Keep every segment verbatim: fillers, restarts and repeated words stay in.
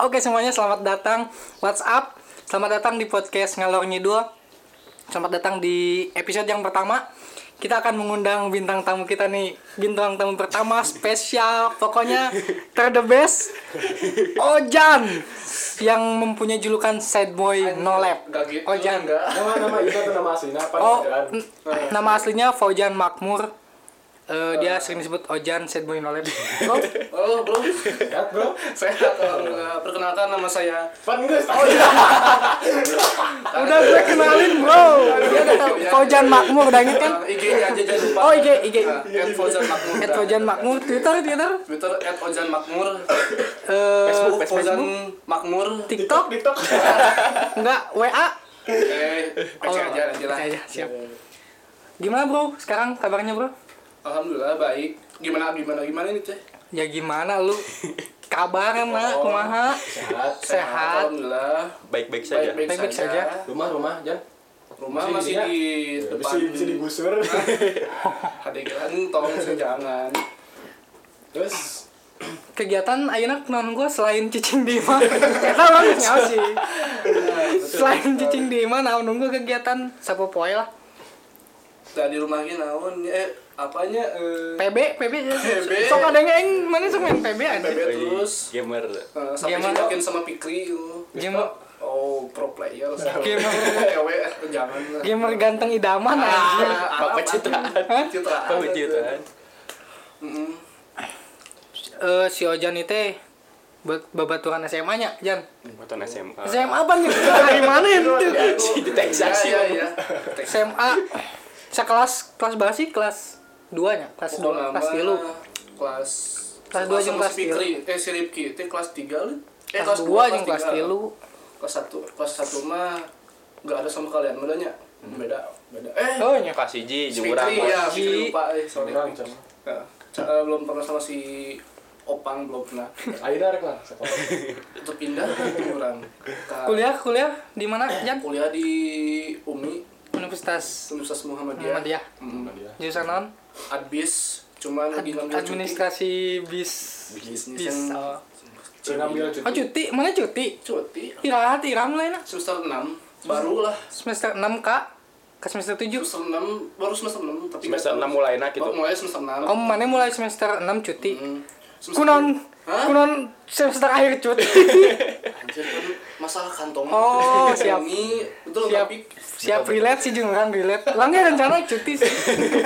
Oke semuanya, selamat datang. What's up? Selamat datang di podcast Ngalor Ngidul. Selamat datang di episode yang pertama. Kita akan mengundang bintang tamu kita nih. Bintang tamu pertama spesial, pokoknya ter the best, Ojan, yang mempunyai julukan sad boy no lab. Ojan. Nama-nama itu atau nama aslinya apa? Oh, n- nama aslinya Fauzan Makmur. Uh, dia sering disebut Ojan sad boy no lab. Bro, Oh bro, Sehat bro? sehat. uh, Perkenalkan nama saya. Pan Inggris. Oh iya. udah gue kenalin bro. Dia udah tahu Fauzan Makmur, udah inget kan? Uh, I G-nya aja jangan lupa. Oh, I G, I G. Uh, at Fauzan Makmur. At Fauzan Makmur, Twitter, Twitter, Twitter at Ojan Makmur. eh Facebook Facebook, Fauzan Makmur. TikTok, TikTok. enggak, W A. Eh, P C aja nanti lah. P C aja, siap. Gimana bro? Sekarang kabarnya bro? Alhamdulillah baik. Gimana gimana gimana ini teh? Ya gimana lu? Kabarnya mah, Oh. kumaha? Sehat. Sehat. Alhamdulillah. Baik-baik saja. Baik-baik saja. Rumah-rumah Jan. Rumah Bisa masih di- di Bisa depan. bisa digusur. Adegan tolong sih jangan. Terus Kegiatan ayeuna naon gua selain cicing di imah. Eta mah geus nyaho sih. Selain cicing di imah naon nunggu kegiatan sapopoe lah. Tadi rumahnya naon eh apanya eh P B, P B. P B. Sok ada yang mana sok main P B aja. P B terus Gamer. uh, sampai Gamer. dicokin sama Pikri uh. Gamer. Oh, pro player. Gamer. Ewe, jangan lah. Gamer ganteng idaman Ah, aja. Bapak citraan. Hah? Citraan. Bapak citraan. Heeh. Eh si Ojan itu buat babaturan S M A-nya, Jan. Buatan S M A. S M A apa nih? Dari mana itu? Si di Texas Iya, sih. iya. S M A. Sekelas kelas berapa sih? Kelas dua nya, kelas dua, kelas tiga. Kelas Kelas dua jeung kelas si Fikri, eh si Rifki itu kelas tiga lu. Eh Kelas dua jeung kelas tiga. tiga. Kelas satu, kelas satu mah enggak ada sama kalian bedanya. Beda, beda. Eh, Oh nya. Kelas hiji si jeung urang. Fikri ya, Si- Fikri lupa eh sorry. orang Jan. Ya, ca- eh, belum pernah sama si Opang belum pernah. Ayeuna rek lah sekolah. Untuk pindah ke orang. Ka- Kuliah kuliah di mana, Jan? kuliah di U M I, Universitas Universitas Muhammadiyah. Muhammadiyah. Mm. Dia. Jurusan non? Adbis, cuman lagi ngambil cuti. Administrasi bis. Bisnis Bis. yang Oh. Saya ngambil cuti. Oh, cuti, mana cuti? cuti Irahat iram lah enak. semester enam baru lah. Semester enam Kak. Ke semester tujuh. Semester enam baru semester enam tapi Semester enam mulainya gitu. Baru mulai semester enam. Oh, mana mulai semester enam cuti. Hmm. Semester- Kunon, Hah? kunon semester akhir cuti. Anjir kan masalah kantong. Oh, siap. Ini betul Siap. tapi Siap relate sih jeung urang relate. Langga rencana cuti sih.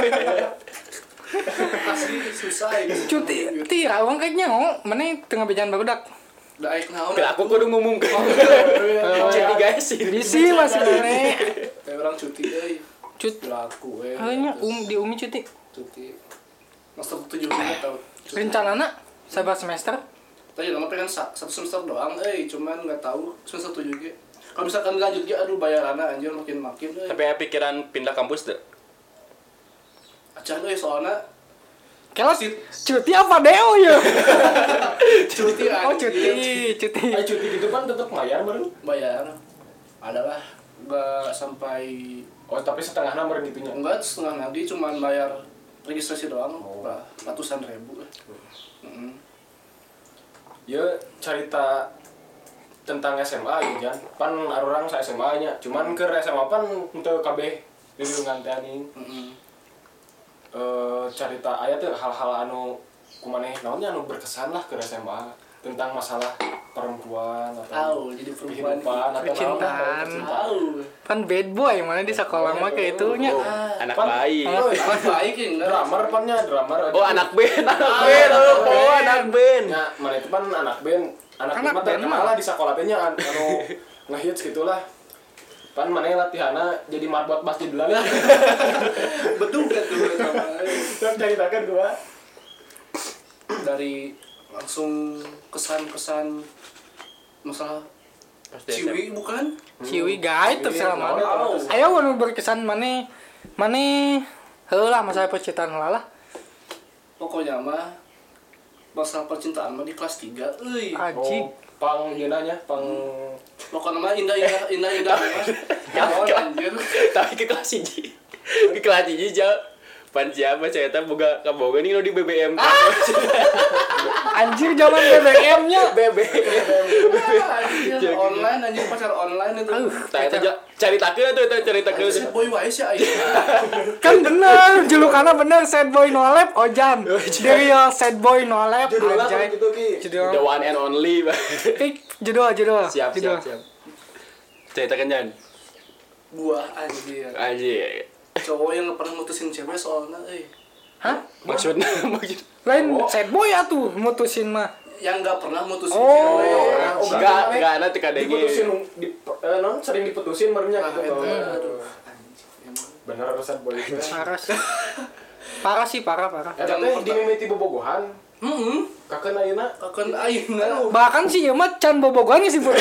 asli susah ini. Cuti, ti rawang kayaknya oh, mana tengah bejan barudak. Da aik naon. Bila aku kudu ngumumkeun. Jadi guys sih. Bisi masih mana. Kayak orang cuti euy. Cuti. Laku eh. Hanya um di Umi cuti. Cuti. Semester tujuh juga tahu. Cuti. Rencanana sabar semester. Tadi nama pengen sa- satu semester doang, eh cuman nggak tahu semester tujuh ge. Kalau misalkan lanjut ge, aduh bayaranna anjir makin makin. Eh. Tapi ya pikiran pindah kampus deh. Acan euy soalna Kelas cuti apa deo ya? cuti Oh anjir. cuti, cuti. Ayo cuti gitu kan tetap bayar meureun. Bayar. Adalah nggak sampai Oh, tapi setengahna meureun gitunya. enggak setengah nanti cuman bayar registrasi doang, Oh. Bah, ratusan ribu. Heeh. Ya cerita tentang S M A gitu Jan. Pan arurang sa S M A nya. Cuman ke S M A pan untuk K B di lingkungan teh anjing. Heeh. Eh cerita aya teh hal-hal anu kumaneh naonnya anu berkesan lah ke S M A tentang masalah perempuan atau Tahu jadi perempuan. kehidupan atau Percintaan. naon lah, Tahu. Kan bad boy mana di sekolah mah kayak itunya. Anak Pan- bayi. Oh, Pas baik ya enggak. drummer pannya drummer Oh anak band, anak band, oh anak band. ya mana itu pan anak band anak Anak band band terkenal mah. lah di sekolah teh nya anu ngehits gitulah pan mana latihanna jadi marbot masjid lah Betul kan tuh sama. terus ceritakan gua Dari langsung kesan-kesan masalah Pasti S M A. ciwi bukan? Ciwi guys terserah mana. Tahu. Ayo anu berkesan mana mana heulah masalah percintaan heula lah. Pokoknya mah masalah percintaan mah di kelas tiga euy. Anjing. oh, pang nyeunanya pang Pokoknya mah indah-indah indah-indah. Ya anjir. Tapi ke kelas hiji. Ke kelas hiji jauh. Pan siapa saya tahu boga kaboga nih lo di B B M. Anjir zaman B B M-nya. B B M. Anjir, online anjir pacar online itu. Tah eta cari takeun tuh eta cari takeun. Si boy wae sih aing. Kan bener, julukannya bener sad boy no lab Ojan. Dari yo sad boy no lab anjay. gitu ki. Judul. The one and only. Pik, judul judul. Siap judul. siap siap. Ceritakan Jan. Gua anjir. Anjir. Cowok yang nggak pernah mutusin cewek soalnya eh Hah? Maksudnya maksud Lain sad boy atuh mutusin mah. yang nggak pernah mutusin Oh. cewek. Oh, enggak enggak ada tika denge. Diputusin di eh, non sering diputusin barunya Nah, gitu. itu, Oh. aduh. Anjir, emang. Bener sad boy itu. Parah sih. Parah sih, parah parah. Eta teh dimimiti bobogohan. Heeh. Kakeun ayeuna Akan aing na. Bahkan sih ya mah can bobogohan sih pun.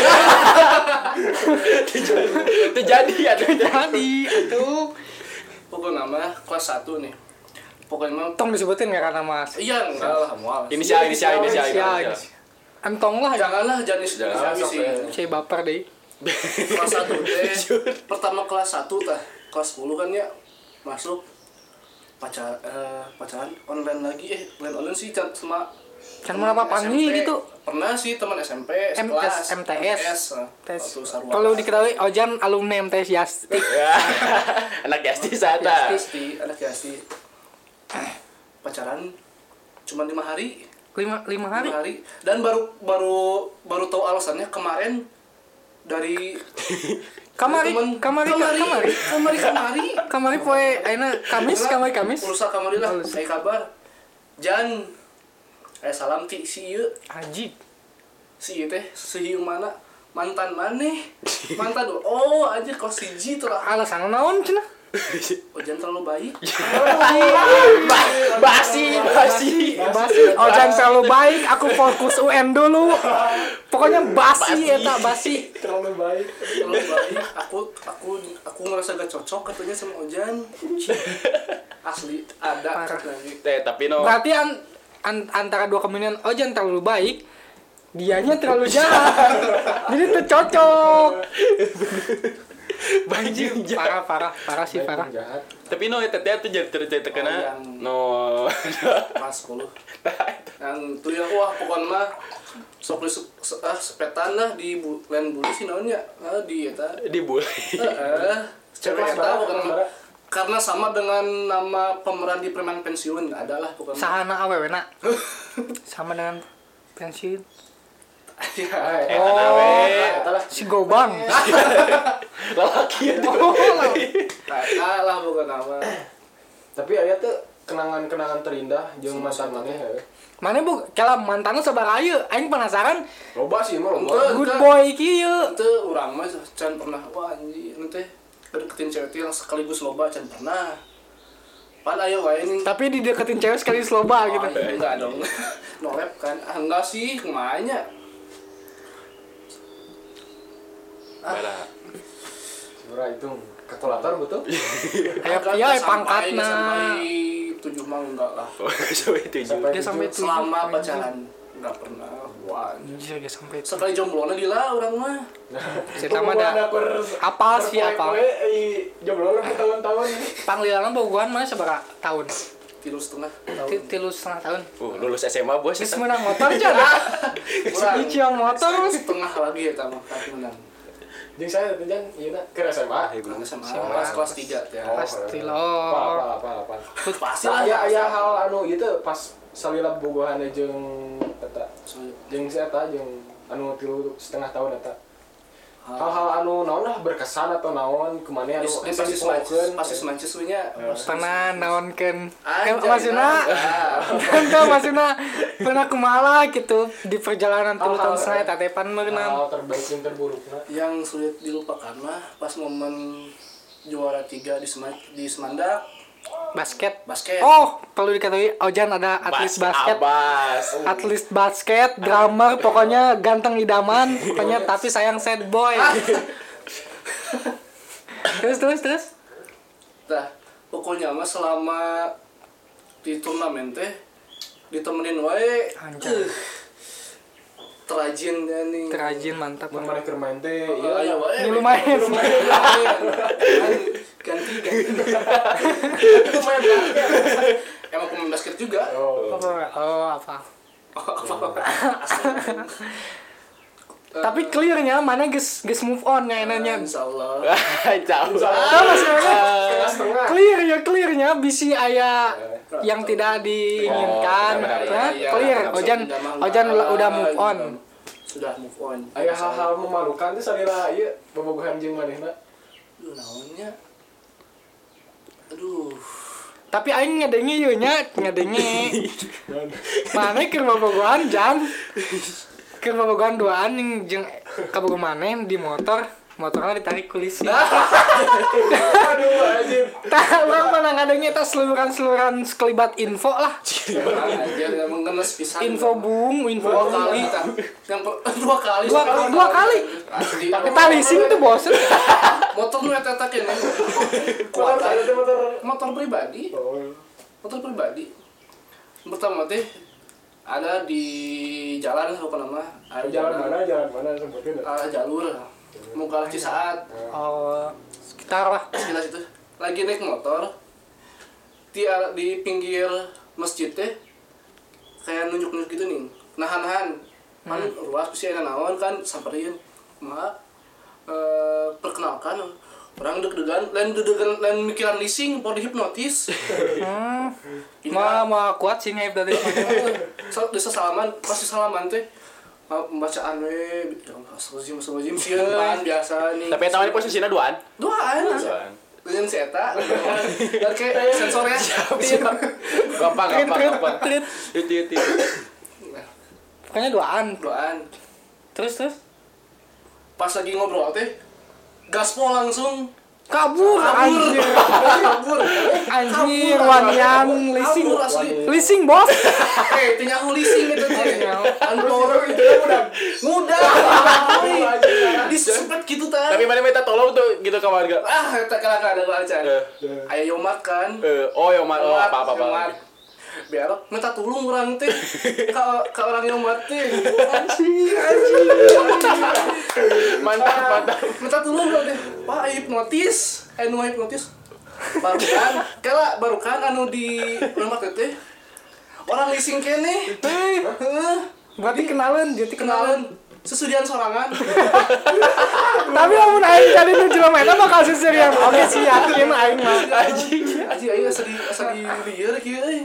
Itu jadi ada Jadi atuh. Pokoknya nama kelas satu nih. Pokoknya mah Tong disebutin nggak karena Mas? iya enggak lah mual. Inisial inisial inisial. Ya, inisial. Entong lah. Janganlah jenis Jangan, jenis sok, sih. eh. Saya baper deh. Kelas satu teh. Pertama kelas satu tah. Kelas sepuluh kan ya masuk pacar eh, pacaran online lagi eh online online sih can sama Kan mau apa teman panggil S M P. gitu. Pernah sih teman S M P M sekelas S M T S. eh, Tes. waktu sarua. Perlu diketahui Ojan alumni M T S Yasti. Ya. Anak Yasti Sata. Yasti, anak Yasti. Pacaran cuma lima hari, Lima lima hari. lima hari dan baru baru baru tahu alasannya kemarin dari Kamari, temen- kamari, kamari, kamari. kamari, kamari. Kamari poe ayeuna Kamis, kamari Kamis. Pulsa kamari lah, saya kabar. Jan, eh salam ti si ieu, Aji. si ieu teh, si ieu mana? Mantan maneh. Mantan oh anjir kos siji tuh lah. Alasan naon cenah? Oh Jan terlalu baik. Basi, basi. Basi. Ojan terlalu baik, aku fokus U N dulu. Pokoknya basi eta basi. terlalu baik. Terlalu baik. Aku aku aku ngerasa gak cocok katanya sama Ojan. Asli ada Parah. lagi. Eh tapi no. Berarti an, an- antara dua kemungkinan Ojan terlalu baik, dianya terlalu jahat. Jadi itu cocok. Banjir Parah, parah, parah sih parah. Jahat. Tapi no eta teh tuh jadi cerita Oh, kena yang- no. Kelas sepuluh. Yang tuh ya wah pokoknya mah sok di se- ah, sepetan lah di bu, lain bulu sih naonnya ah, di eta Dibully. eh cewek Kelas eta berapa, bukan kelas berapa? karena sama dengan nama pemeran di preman pensiun nggak ada lah pokoknya. Sahana awewe nak. Sama dengan pensiun. Ya, Eh nawe. Eta lah. Si Gobang. Lalaki itu. nah lah bukan nama. Tapi aya tuh kenangan-kenangan terindah jeung mantan maneh ya. Mana bu? Kalau mantannya sabaraha ieu? Aing penasaran. Loba sih mah loba. Enggak. Good boy kieu. Itu urang mah can pernah wah anjing nanti deketin cewek itu yang sekaligus loba can pernah. Pan ayo wae nih. Tapi dideketin cewek sekali sloba gitu. Oh, iya, enggak dong. Nolep kan. Ah, enggak sih, kemanya. Bara. Sebenarnya itu kalkulator betul. Kayak Enggak, iya enggak pangkatna. sampai tujuh mah enggak lah. Oh, sampai tujuh. Sampai Dia sampai tujuh. Selama pacaran enggak pernah. Wah. Anjir dia sampai itu. Sekali jomblo di lah orang mah. Cerita mah ada apal sih apal. Jomblo lah tahun-tahun. Panggilan bogohan mana seberapa tahun? Tilu setengah Ti- tahun. Tilu setengah tahun. Uh, lulus S M A bos. Geus menang motor aja. Kurang. Si yang motor. Setengah lagi ya tamu kaki menang. Jeung saya teh jan ieu na keur S M A. Kurang sama S M A. kelas kelas tiga ya. Pasti Apa loh. apa apa. Pasti Nah, lah. aya aya hal anu ieu teh pas salila bogohan jeung eta jeung si eta jeung anu tilu setengah tahun eta. Hal-hal anu naon lah berkesan atau naon kemana anu Pasti asa pasti dipohokeun. pasti semancis we nya. Pernah naonkeun. Eh Anjay, maksudna nah. kan maksudna pernah kumaha gitu di perjalanan tilu tahun Hal-hal, setengah tatepan meunang. Hal terbaik yang terburukna. Yang sulit dilupakan mah pas momen juara tiga di Sema- di Semandak Basket. basket. Oh, perlu diketahui Ojan ada atlet basket. Abas. Atlet basket, drummer, pokoknya ganteng idaman, pokoknya tapi sayang sad boy. terus terus terus. Nah, pokoknya mah selama di turnamen teh ditemenin wae. Anjay. Uh, terajin dan nih. Terajin mantap. Mun maneh keur main teh Iya, ieu ayo wae. Ini lumayan. Ganti ganti. main basket. Emang pemain basket juga. Oh. Apa? Oh, apa? Asli. Tapi clearnya mana guys guys move on nya enanya. Insyaallah. Jauh. Tahu masih Setengah-setengah. clear ya clearnya bisi aya yang tidak diinginkan. Oh, benar, benar, Nah, Iya, clear. iya, Ojan sudah mah Ojan enggak, udah move on. Sudah move on. Aya hal-hal memalukan teh salila ieu bobogohan jeung manehna. Aduh, naonnya? Aduh. Tapi aing ngadenge ieu nya, ngadenge. Mana keur bobogohan Jan? Keur bobogohan duaan yang jeung kabogoh maneh di motor, motornya ditarik ku lisi. Aduh anjir. Tah urang mah ngadenge eta seluruhan-seluruhan sekelibat info lah. Anjir emang ngenes pisan. Info bung, info dua bung. kali kita. Yang per- dua kali. Dua sekali. dua kali. Asli. Eta leasing tuh bosen. Motor nu eta eta kene. Kuat ada teh motor. Motor pribadi. Oh. Motor pribadi. Pertama teh ada di jalan apa nama? Ada Jalan mana? Jalan mana sebutkeun? Ah, jalur. Mau ke Cisaat. Oh, sekitar lah. Sekitar situ. Lagi naik motor. Di di pinggir masjid teh kayak nunjuk-nunjuk gitu nih. Nahan-nahan. Kan ruas pasti ada naon kan samperin. Ma eh perkenalkan orang deg-degan, lain deg-degan, lain mikiran leasing, mau dihipnotis. Hmm. Ma ma kuat sih hype tadi. So, desa salaman, pasti salaman teh pembacaan we, ya Allah, astagfirullahaladzim, astagfirullahaladzim, sieun pan biasa nih. Tapi eta mah posisinya duaan. Duaan. Duaan. Dengan si eta. Dan kayak sensornya. Gampang, Trit gampang, trit gampang. trit. Itu itu. Pokoknya duaan. Duaan. Terus terus Pas lagi ngobrol teh gaspol langsung kabur anjir. kabur. Anjir wanian leasing. Kabur asli. Leasing bos. Eh, tanya aku leasing itu teh. Antor Itu kan udah mudah. Disempet gitu tah. Tapi mana minta tolong tuh gitu ke warga. Ah, eta kala ada aja. Eh, Aya Yomat kan. eh, oh ya oh, Yomat, apa apa apa. Yomat. Belok minta tolong orang teh ka ka orang Yomat teh. Anjir anjir. Mantap, mantap. Minta tolong orang teh. Pak hipnotis. Anu hipnotis. Baru kan, kala baru kan anu di Yomat teh. Orang leasing kene. Heeh. Berarti kenalan jadi kenalan. Kenalan sesudian sorangan. Tapi amun aing jadi nu jelema eta bakal seserian. Oke sih yakin aing mah. Anjing, anjing aing asa di asa di lieur kieu euy.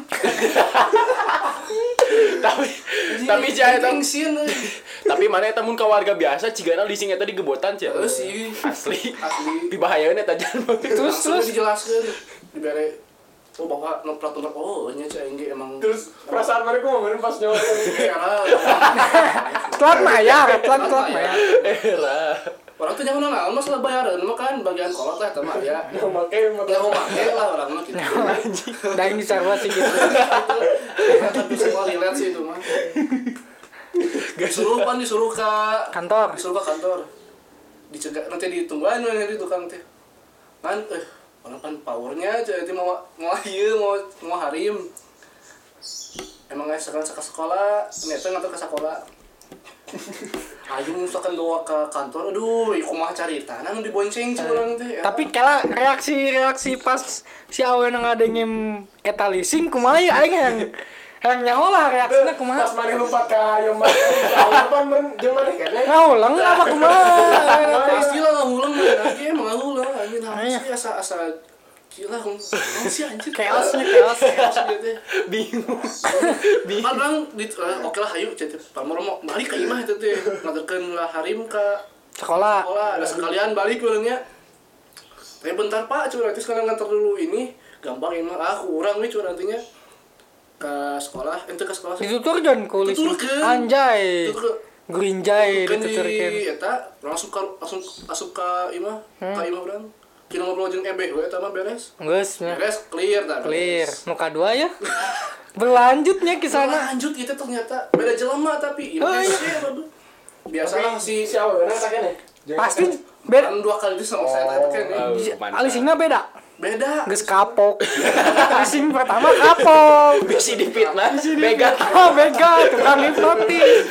Tapi tapi sih eta tengsin euy. tapi mana eta mun ka warga biasa cigana leasing eta digebotan cia. Heeh sih. Asli. Asli. Di bahayaeun eta jan. Terus Langsung terus dijelaskeun dibere oh bahwa no plat nomor oh nya cai engge emang Terus perasaan mereka mau bener pas nyawa. ya lah. telat mayar, telat telat mayar. Era. Orang tuh jangan naon masalah bayaran mah kan bagian kolot lah eta mah ya. Mau make motor. Ya mau make lah orang mah gitu. Da aing disarwa sih gitu. Tapi semua relate sih itu mah. Disuruh pan disuruh ke Kantor. disuruh ke kantor. Dicegah nanti ditungguan nanti tukang teh. Kan eh orang pan powernya jadi mau mau ieu mau mau harim. Emang guys sekarang ke sekolah, ternyata ngantar ke sekolah. Ayo misalkan doa ke kantor, aduh, iku mah carita, nang dibonceng sih orang teh. Tapi kala reaksi-reaksi pas si awewe ngadengin eta leasing kumaha ya aing yang yang nyaho lah reaksina kumaha. Pas maneh lompat ka Yomat. Kapan men jeung maneh kene. Ngaulang apa kumaha? Nah, istilah ngahulang mah lagi emang ngahulang anjing harus sih asa asa gila kan sih anjir Chaosnya chaos. chaos gitu. Bingung. Bingung. Padahal di oke lah hayu cenah pamor mau balik ka imah eta teh ngadekeun lah harim ka Sekolah. sekolah ada sekalian balik urangnya. Tapi bentar Pak, cuma nanti sekarang ngantar dulu ini gampang imah ah kurang nih cuma nantinya ke sekolah ente ke sekolah Dituturkeun ku leasing. Dituturkeun. Anjay. itu ke Grinjay kan di dituturkeun. eta langsung ka, langsung asup ka imah ka imah urang kira ngobrol jeung ebeh we eta mah beres Geus nya. beres clear dah Clear. Muka dua ya. Berlanjutnya ke sana. lanjut itu ternyata beda jelema tapi Oh, imah iya. sih aduh biasalah si si awewe tak kene. Pasti beda. kan dua kali itu sama saya tadi kan Oh, ya. mantap. Alisingna beda. beda. Geus kapok. Leasing pertama kapok. Bisi dipitnah, begat. Ah, bega tukang hipnotis.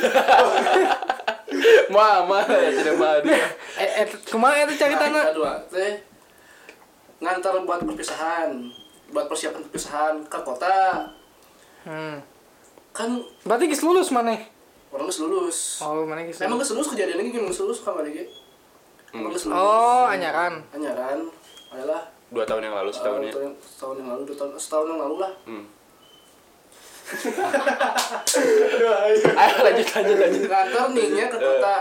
Mama, ya tidak mah. Eh, eh kumaha eta caritana? Kedua teh ngantar buat perpisahan, buat persiapan perpisahan ke kota. Hmm. Kan Berarti geus lulus maneh. orang geus lulus. Oh, maneh geus. Emang geus lulus kejadian ini geus lulus ka mana ge? Emang geus lulus. Oh, anyaran. Anyaran. Ayolah. Dua tahun yang lalu, setahun ya. Tahun, setahun yang lalu, dua tahun, setahun yang lalu lah. Hmm. Ayo lanjut lanjut lanjut. Ngantar nih ke kota.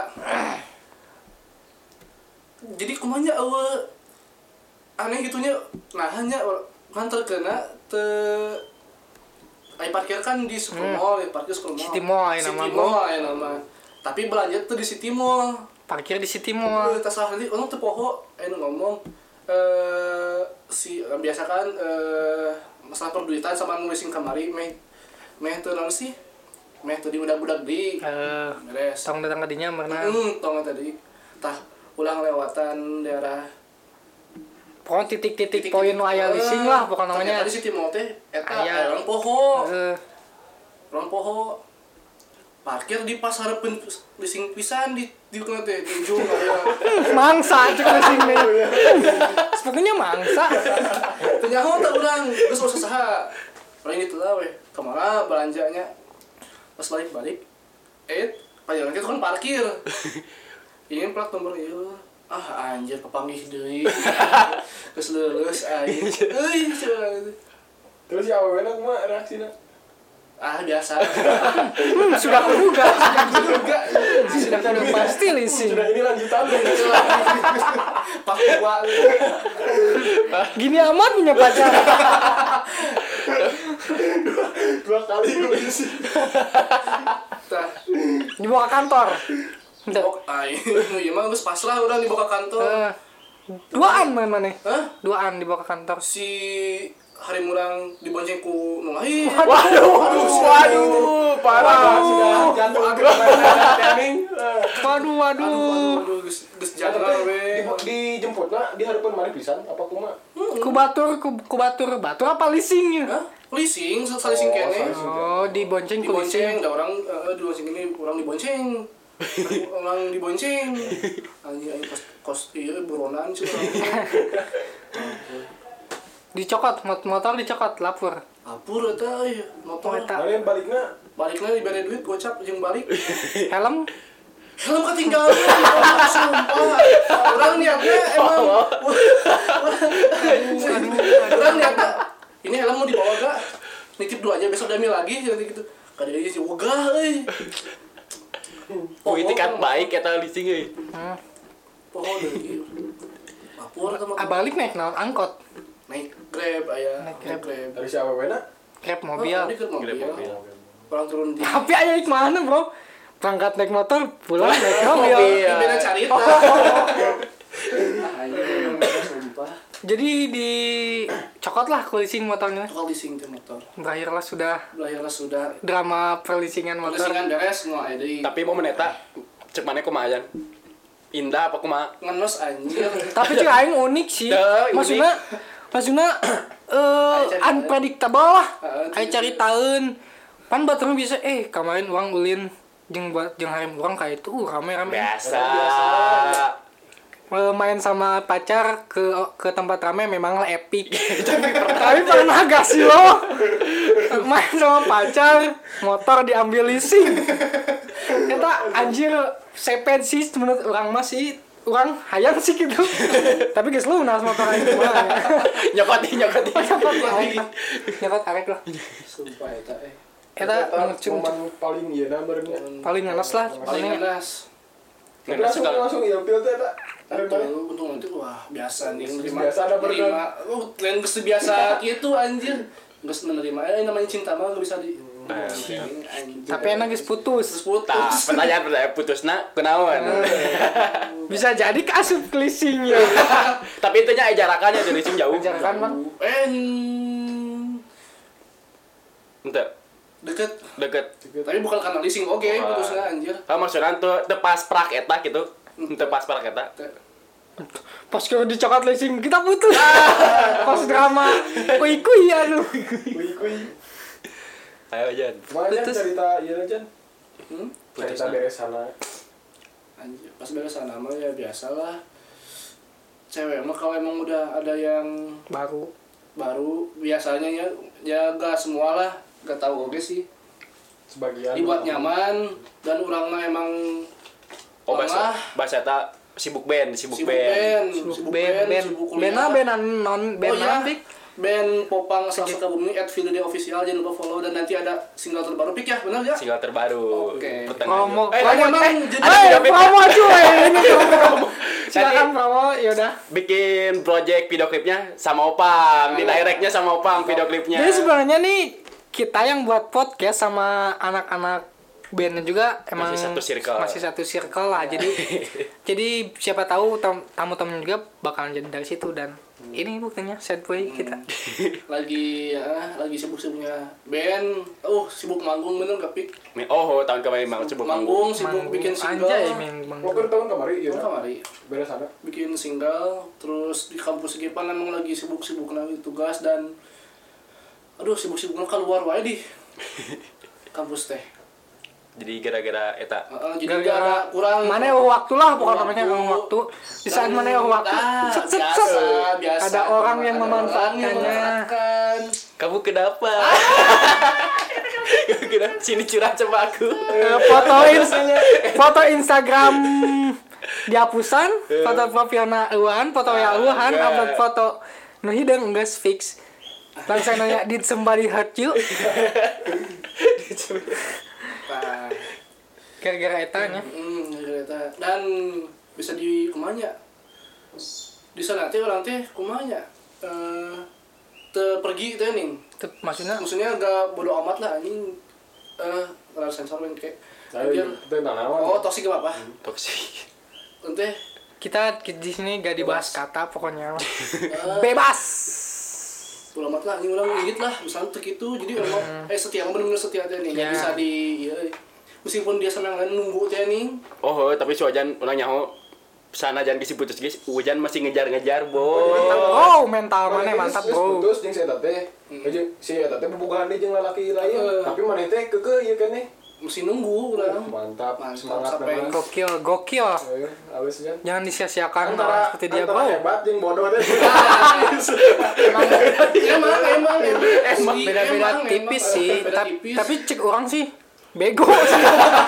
Jadi kumanya awe aneh gitunya, nah hanya ngantar kena te ay parkir kan di Super Mall, hmm. parkir Super Mall. City Mall aya nama. City Mall aya nama. Tapi belanja tuh di City Mall. Parkir di City Mall. Tas ahli orang teu poho aya ngomong eh si biasa kan eh masalah perduitan sama nulisin kamari meh meh teu naon sih? Meh teu di budak-budak di. Eh, beres. tong datang ka dinya meunang. Hmm, tong tadi. Tah ulang lewatan daerah pokoknya titik-titik poin nu aya leasing lah pokoknya namanya. Tadi City Mall teh eta Aya. orang poho. Eh, Orang poho. Parkir di pas hareupeun leasing pisan di di kana teh di ujung aya. mangsa cek leasing teh. Pokoknya mangsa. Teu nyaho teh urang geus usah saha. Paling itu lah weh. Kemana belanjanya? Pas balik-balik eh pajalan kita kan parkir. Ini plat nomor ieu. Ah anjir kepanggih deui. Geus leuleus aing. Euy, Terus ya awalnya kumaha reaksina? ah biasa. Hmm, sudah kuduga. Juga Sudah kuduga pasti leasing. Sudah ini lanjutan. Pak gua. Gini amat punya pacar. Dua kali gue isi. Tah. Dibawa ke kantor. Entah. Oh, ai. Ieu mah geus pasrah urang dibawa ka kantor. Eh, duaan main maneh. Hah? Duaan dibawa ke kantor. Si hari murang dibonceng ku nu lain. Waduh, waduh, parah. Sudah jatuh agak timing. Waduh, waduh. Aduh, aduh, geus geus jangan we. Dijemputna di harapan mari pisan apa kumaha? Ku batur, ku, ku batur, batur apa leasingnya? Hah? Leasing, salising Oh, kene. salising. Oh, dibonceng ku leasing. Dibonceng, da orang eh di bonceng ini orang dibonceng. Orang dibonceng. Anjing aing kos kos ieu buronan sih urang. Dicokot, mot- motor dicokot, lapor. Apur eta euy, motor. Oh, eta. Kalian baliknya Balikna dibere duit gocap jeung balik. Helm? Helm ketinggalan. Sumpah. Urang niatnya emang Urang niatnya ini helm mau dibawa gak? Nitip dua aja besok damil lagi nanti gitu. Kada ieu sih wegah euy. Oh, itikat baik eta leasing euy. Hmm. Pohon deui. Lapor sama Ah, balik naik naon angkot. naik Grab aya, Naik naik Grab. Grab. dari siapa wena? Grab Oh, mobil. ini Grab mobil. Grab mobil. Orang turun di Tapi aya ik mana, Bro? Berangkat naik motor, pulang naik mobil. Ini beda carita. Ah, anjing, sumpah. Jadi di cokot lah ku leasing motornya. Tukang leasing teh motor. Berakhirlah sudah Belajarlah sudah. drama perleasingan motor. Leasingan beres mau aya deui. Tapi mau meneta cek mana kumaha ajan? Indah apa kumaha? Ngenos anjir. Tapi cek aing unik sih. Dah, unik. Maksudnya maksudnya eh unpredictable lah. Heeh, Aya caritain. Pan batur bisa eh kemarin uang ulin jeung buat jeung harem urang ka itu uh, rame-rame. Biasa. Eh, main sama pacar ke ke tempat ramai memang lah epic. Tapi pernah gak sih lo main sama pacar motor diambil leasing? Kita anjir seped sih menurut orang masih orang hayang sih gitu. Tapi guys lu nas motor aing mah. Nyokoti, nyokoti. Nyokot arek lah. Nyokot arek lah. Sumpah eta eh. Eta ngecung momen paling ieu na beurnya. paling ngenes lah. Paling Paling ngenas. Tapi langsung langsung ieu pil teh eta. Untung, untung nanti wah biasa nih nerima. Biasa ada nerima. Oh, lain geus biasa gitu anjir. Geus menerima eh namanya cinta mah gak bisa di anjing, anjing. tapi enak guys putus. Terus Tah, putus. pertanyaan pertanyaan putusna kunaon? Bisa jadi kasut leasingnya. Tapi itu nya jarakannya dari leasing jauh. Jarakan mah. Eh Ente, deket. deket. Tapi bukan karena leasing oke Wah. putusnya anjir. Ah maksudna tuh teu pas prak eta gitu. Teu pas prak eta. Pas kalau di coklat racing kita putus. Pas drama kui kui aduh. Kui kui. Ayo Jan. Kemana Jan Putus. cerita iya Jan? Hmm? Cerita beres sana. Anjir, pas beres sana mah ya biasalah. Cewek mah kalau emang udah ada yang Baru. baru biasanya ya ya gak semua lah, gak tahu oke sih. Sebagian Dibuat nyaman dan orang mah emang Oh bahasa lengah, bahasa eta sibuk band, sibuk, sibuk band. band, Sibuk sibuk band, band, band. sibuk Band kuliah. band non band Oh iya, Pik. band Popang asal Sukabumi at Video Official, jangan lupa follow dan nanti ada single terbaru Pik ya, benar ya? Single terbaru. Oke. Pertengahan. Promo. Eh, Promo, emang eh, jadi- eh, ada video promo cuy. Ini promo. Silakan Nanti- promo, yaudah. bikin project video klipnya sama Opang, di directnya sama Opang video klipnya. Jadi sebenarnya nih kita yang buat podcast sama anak-anak bandnya juga emang Masih satu circle. masih satu circle lah. Jadi jadi siapa tahu tam- tamu-tamu juga bakalan jadi dari situ dan ini buktinya sad boy kita. Lagi ya, lagi sibuk-sibuknya band. Oh, sibuk manggung bener gak Pik? Oh, tahun kemarin mau sibuk Manggung, manggung. sibuk Manggung. bikin single. Anjay, main manggung. Waktu tahun kemarin iya. Tahun kemarin Beres sana. bikin single, terus di kampus Gipan emang lagi sibuk-sibuk lagi tugas dan aduh sibuk-sibuknya keluar wae di kampus teh. Jadi gara-gara eta Heeh, jadi Gara-gara gak ada kurang Mana yang waktu lah pokoknya Waktu. namanya yang waktu. Di saat Dan- mana yang waktu. Ah, Set, set, biasa, set. biasa. Ada orang yang Ada memanfaatkannya. orang yang memanfaatkan. kamu kenapa? Kenapa? Sini curhat sama aku. Eh, foto ins foto Instagram dihapusan, foto profilna eueuhan, foto ya eueuhan, enggak. upload foto nu hideung geus fix. Langsung nanya, did somebody hurt you? Nah, Gara-gara eta nya. hmm, kereta. Dan bisa di kumanya. Di sana teh orang teh kumanya. Eh te pergi teh nih. Itu maksudnya Maksudnya agak bodo amat lah anjing. Eh, rada sensor men kayak. Saya tentang naon. Oh, toksik apa apa? Toksik. Ente kita di sini gak dibahas kata pokoknya. eh, Bebas. bodo amat lah anjing orang ngigit lah, misalnya tuh gitu. Jadi emang eh setia bener-bener setia teh nih. Gak Ya. bisa di iya, meskipun dia sama yang lain nunggu teh nih. Oh, tapi si Ojan ulah nyaho sana jangan kisi putus guys. Ujan masih ngejar-ngejar, Mantap. Bo. Oh, mental mana mantap, bro. Putus jeung si eta teh. Jeung si eta teh bobogohan deui jeung lalaki lain. Eh. Tapi mana teh keukeuh ieu kan nih. Mesti nunggu udah. Mantap, Mantap, semangat sampai- memang. Gokil, gokil. Ayo, awes kan. Jangan disia-siakan Antara orang seperti dia, antara bro. hebat jeung bodoh teh. emang emang emang Emang Sih, beda-beda emang, tipis emang, sih. beda Ta- tipis. Tapi cek orang sih bego sih.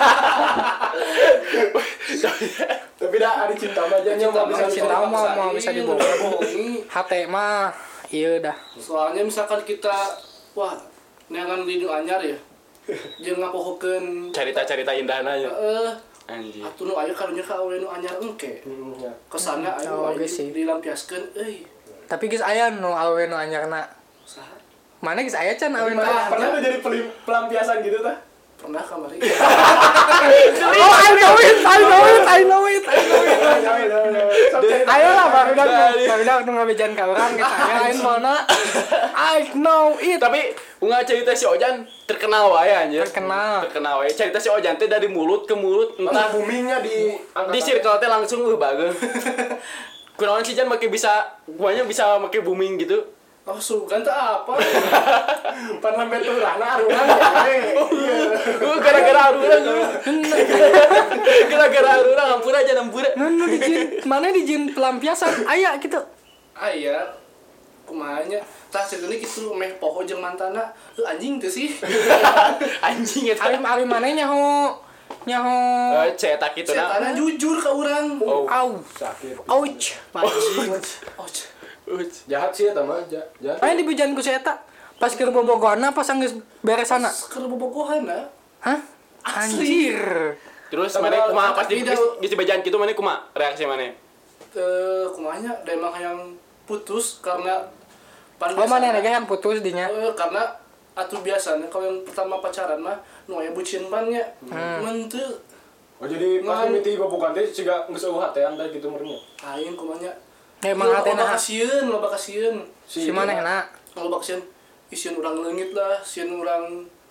Tapi dah ada cinta mah aja nya mah bisa cinta dibohong. mah mau bisa dibohong. dibohongi. H T mah iya dah. Soalnya misalkan kita wah neangan di nu anyar ya. Jeung ngapohokeun Cerita-cerita indahna nya. heeh Anjir. atuh nu aya karunya ka awe nu anyar engke. Hmm, ya. Kesanna aya Oh, aya oke sih. dilampiaskeun euy. Tapi geus aya nu awe nu anyarna. Saha? Mana geus aya can awe nu Pernah anyarna. pernah tuh jadi pelim- pelampiasan gitu tah? Pernah kamari. Oh, I know it, I know it, I know it, I know it. Ayo lah baru dah baru dah nu ngabejan ka urang geus aya lain mana. I know it. Tapi unggah cerita si Ojan terkenal wae anjir. Terkenal. Terkenal wae. Cerita si Ojan teh dari mulut ke mulut Entah entah boomingnya di di circle teh langsung uh bageun. Kunaon sih Jan make bisa guanya bisa make booming gitu. Oh, sugan teh apa? pan lambe turana arungan ya. Uh gara-gara arurang. Gara-gara arurang ampura aja ampura. Nu nu dijin mana dijin pelampiasan aya gitu. Aya kumanya tah ceritanya kitu meh poho jeung mantana. Heuh anjing teh sih. Anjing eta. Alim alim mana nyaho nyaho Eh cetak gitu Setana nah. jujur ka urang. Oh. au Sakit. ouch anjing. Oh, Uts. Jahat sih eta mah, ja- jahat. Aya dibejan ku si eta pas keur bobogohana pas geus beres sana. keur bobogohan na. Hah? Asli. Anjir. Terus Tapi mana kalau- kumaha pas tapi di dah- di bejaan kitu mana kumaha reaksi mana? Eh kumanya da emang yang putus karena pan Oh mana biasana- nega yang putus dinya. Eh, karena atuh biasanya kalau yang pertama pacaran mah nu aya bucin bannya. Mun teu Oh jadi pas Ngan- mimiti bobogan teh siga geus eueuh hatean teh gitu meureun. aing kumanya. Ya emang Loba hatena kasieun, loba kasieun. si manehna. Loba kasieun. Isieun urang leungit lah, sieun urang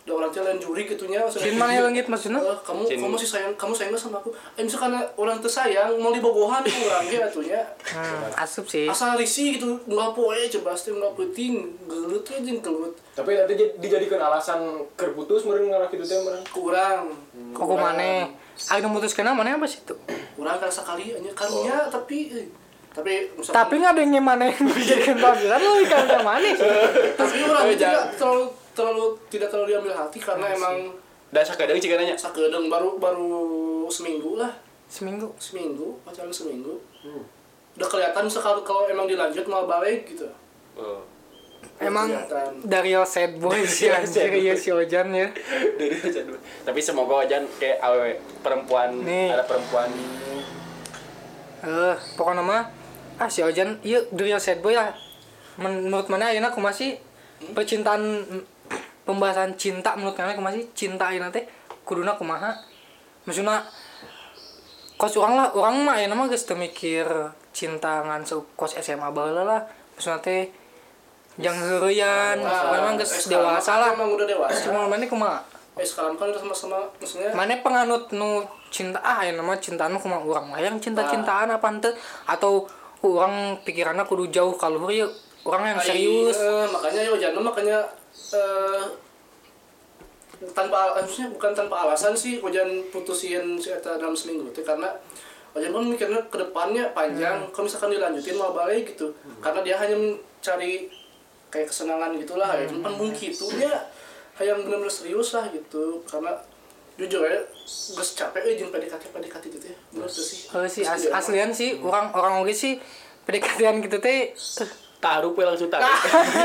da orang teh lain juri gitunya Cin mana leungit maksudna? Eh, kamu Cin. kamu masih sayang kamu sayang sama aku eh misalkan orang teu sayang mau dibogohan urang ge atunya Hmm, asup sih. asal risih gitu nggak poe coba pasti nggak penting gelut we jeung kelut Tapi nanti jadi- dijadikan alasan keur putus meureun ngalah kitu teh meureun. kurang Kok maneh? Ari nu mutuskeun mana apa sih itu? kurang kan sekali anya karunya tapi eh, tapi misalkan- Tapi ngadengnya mana yang dijadikan pameran lo ikan yang mana sih? tapi orang tidak terlalu terlalu tidak terlalu diambil hati karena emang Dan sakadeng cik nanya. sakedeung baru baru seminggu lah Seminggu. seminggu pacaran seminggu udah kelihatan sekali kalau emang dilanjut mau balik gitu Oh. Emang kelihatan. dari your sad boy sih anjir ya si Ojan ya. Dari aja dulu. Tapi semoga aja kayak awewe perempuan Nih. ada perempuan Eh, pokoknya mah ah si Ojan iya dari your sad boy lah. Menurut mana ayeuna kumaha sih percintaan pembahasan cinta menurut mana kumaha sih cinta ayeuna teh kuduna kumaha? Maksudna kos urang lah, urang mah ayeuna mah geus teu mikir cinta ngan kos S M A baheula lah. Maksudna teh jang heureuyan, memang geus eh, sekarang dewasa kan lah. emang udah dewasa Cuma mana kumaha? eh sekarang kan udah sama-sama maksudnya Mana penganut nu cinta ah ya nama cintaan mah kumaha urang mah yang cinta-cintaan apa henteu atau urang pikiranna kudu jauh ka luhur ya urang yang Ai, serius. eh, makanya yo jangan makanya eh tanpa maksudnya bukan tanpa alasan sih hujan putusin si eta dalam seminggu teh karena hujan kan mikirnya ke depannya panjang Hmm. kalau misalkan dilanjutin mau balik gitu karena dia hanya mencari kayak kesenangan gitulah ya Hmm. cuman mungkin itu dia yang benar-benar serius lah gitu karena jujur ya geus capek euy jeung P D K T P D K T itu teh bener tuh sih Heuh sih Geus as, gede aslian sih urang orang oge sih P D K T-an gitu teh eh, taruh we langsung taruh.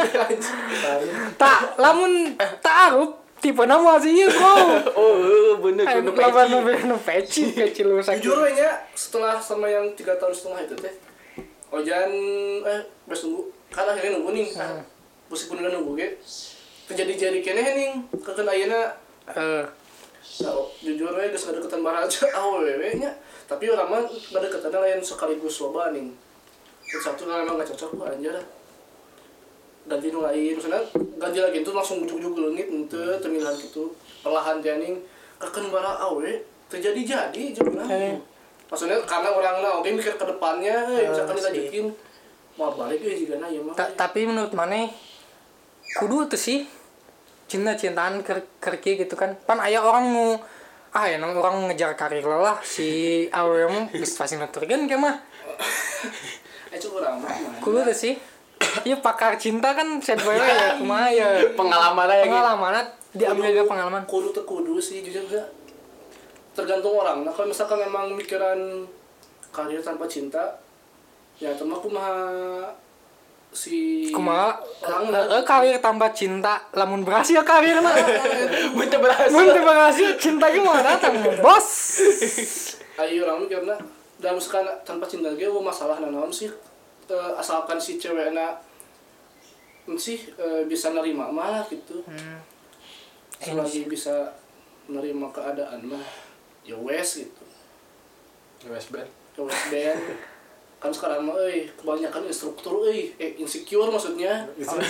tak lamun taruh tipe nama sih ieu bro. Oh, bener Ayo kudu lawan nu peci. nu peci peci lu sakit. jujur we nya setelah sama yang tiga tahun setengah itu teh Ojan eh bes nunggu kan akhirnya nunggu nih Hmm. meskipun udah nunggu ge terjadi-jadi keneh ning kekeun ayeuna Eh, nah, jujur we geus ngadeukeutan baraja awewe nya tapi urang mah ngadeukeutanna lain sekaligus loba ning terus satu kalau emang gak cocok wah anjir ganti nu lain misalnya ganti lagi itu langsung ujuk-ujuk leungit henteu temilan gitu perlahan janing kekeun bara awe terjadi jadi jeung Eh. maksudnya karena orangna oke mikir ke depannya eh, Eh, misalkan sih. dilanjutin mau balik euy jigana ieu mah ta- tapi menurut mana kudu tuh sih cinta-cintaan ker kerki gitu kan pan aya orang nu ah ya nama orang ngejar karir lah si awewe mah geus pasti nuturkeun ke mah eh coba urang mah kudu tuh sih ieu pakar cinta kan sad boy ya kumaha ya Pengalaman aja gitu. pengalaman diambil dari pengalaman kudu teu kudu sih jujur gak tergantung orang nah kalau misalkan emang mikiran karir tanpa cinta ya teman kumaha si kumaha orang eh, karir tanpa cinta lamun berhasil karir mah Mun teu berhasil. mun teu berhasil cinta ge mah datang bos ayo orang mikirna dalam misalkan tanpa cinta ge oh, masalah naon sih Eh, asalkan si cewekna sih eh, bisa nerima mah gitu Hmm. selagi bisa menerima keadaan mah ya wes gitu U S B. ya wes band kan sekarang mah euy kebanyakan instruktur euy eh insecure maksudnya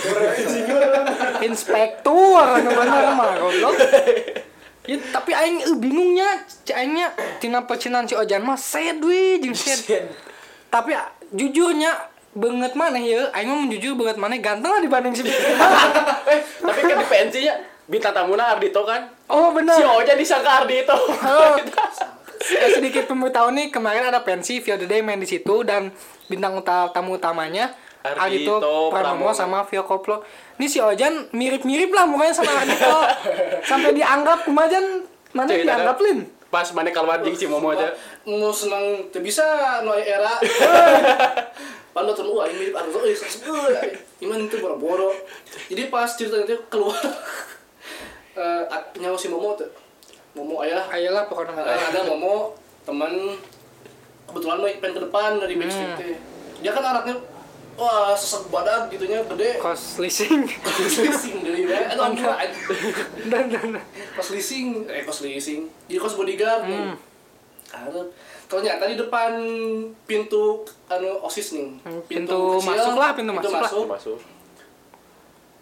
inspektur anu bener mah goblok. Ya, tapi aing eh, bingungnya aingnya tina percintaan si Ojan mah sad we jeung sad. Tapi ah, jujurnya banget mana ya aing mah jujur banget mana ganteng lah dibanding si Eh, tapi kan di pensinya bintang tamuna Ardito kan. Oh bener. Si Oja disangka Ardito. Oh. Eh, sedikit pemberitahuan nih kemarin ada pensi Vio the Day main di situ dan bintang uta- tamu utamanya Ardhito Ardhito Pramono Pramono sama Vio Koplo. Ini si Ojan mirip-mirip lah mukanya sama Ardhito. Sampai dianggap kumajan mana Cerita dianggap ada- Lin? Pas mana keluar jeung si Momo aja. mau senang teu bisa nu aya era panda tuh wah ini mirip Arzo euy euy iman itu boro-boro jadi pas ceritanya teh keluar eh nyawa si Momo tuh Momo aya Ayolah pokoknya ada, ada Momo teman kebetulan mah pengen ke depan dari backstage teh dia kan anaknya wah sesek badan gitunya gede kos leasing. pas leasing dari ya aduh ampun Dan dan pas leasing eh pas leasing jadi kos bodyguard nih ada ternyata di depan pintu anu osis nih pintu masuk lah, pintu masuk lah. Masuk.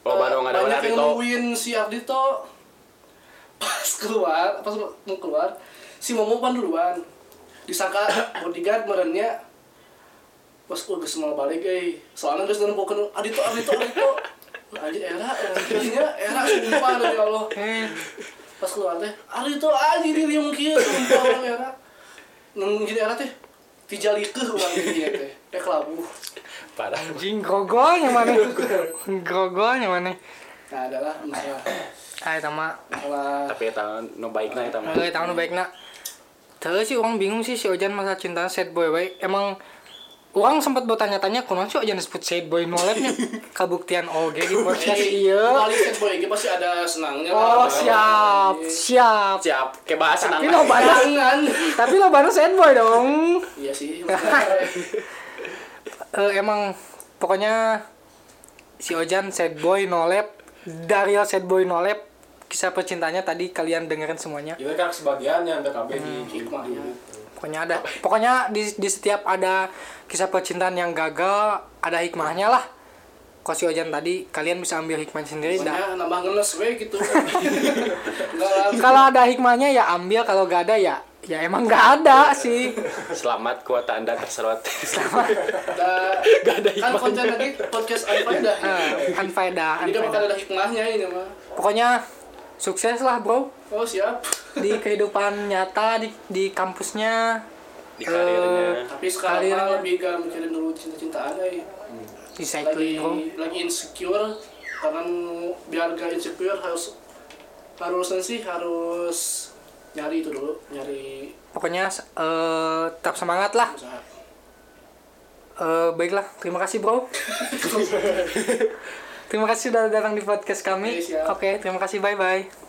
Oh, baru nggak ada banyak yang Ardhito. nungguin si Ardhito pas keluar pas mau keluar si Momo pan duluan disangka bodyguard merennya pas udah semua balik eh soalnya guys dan bukan Ardhito Ardhito Ardhito anjir era anjirnya era sumpah dari Allah pas keluar teh Ardhito anjir dia mungkin sumpah orang era nungguin era teh tijalikeun urang dia teh teh kelabu Parah. Anjing grogolnya mana? Grogolnya mana? nah adalah masalah Ah eta mah. masalah Tapi eta nu baikna eta mah. Heeh, tahun baikna. Terus sih orang bingung sih si Ojan masa cinta sad boy we. Emang orang sempat bertanya-tanya kunaon sih Ojan disebut sad boy nolepnya. Kabuktian oge di podcast ieu. kali set boy ge pasti ada senangnya Oh, lah. siap, siap. Siap, kayak bahasa Tapi nang. lo banas, Jangan. tapi lo banas sad boy dong. Iya sih. Eh, emang pokoknya si Ojan sad boy nolep, Daryl sad boy nolep, kisah percintanya tadi kalian dengerin semuanya. Itu kan sebagiannya untuk K B di Hikmahnya. Pokoknya ada, pokoknya di, di setiap ada kisah percintaan yang gagal ada hikmahnya lah. Kok si Ojan tadi kalian bisa ambil hikmahnya sendiri. dah. Pokoknya nambah ngeles we gitu. Enggak lah. Kalau ada hikmahnya ya ambil, kalau gak ada ya ya emang gak ada sih. Selamat kuota Anda terserot. Ada Gak ada kan hikmahnya. konten lagi podcast Anfaedah. Eh, Anfaedah, Jadi kan bakal Anfaedah. ada hikmahnya ini mah. Pokoknya sukses lah bro Oh siap. di kehidupan nyata di di kampusnya. Di karirnya. Tapi sekarang Karirnya. mah lebih gak mikirin dulu cinta-cintaan ya. Di Lagi cycling bro. lagi insecure karena biar gak insecure harus harus sih harus nyari itu dulu, nyari Pokoknya eh, tetap semangat lah. usaha. Eh, baiklah, terima kasih bro. Terima kasih sudah datang di podcast kami. Oke, siap. Oke, terima kasih, bye bye.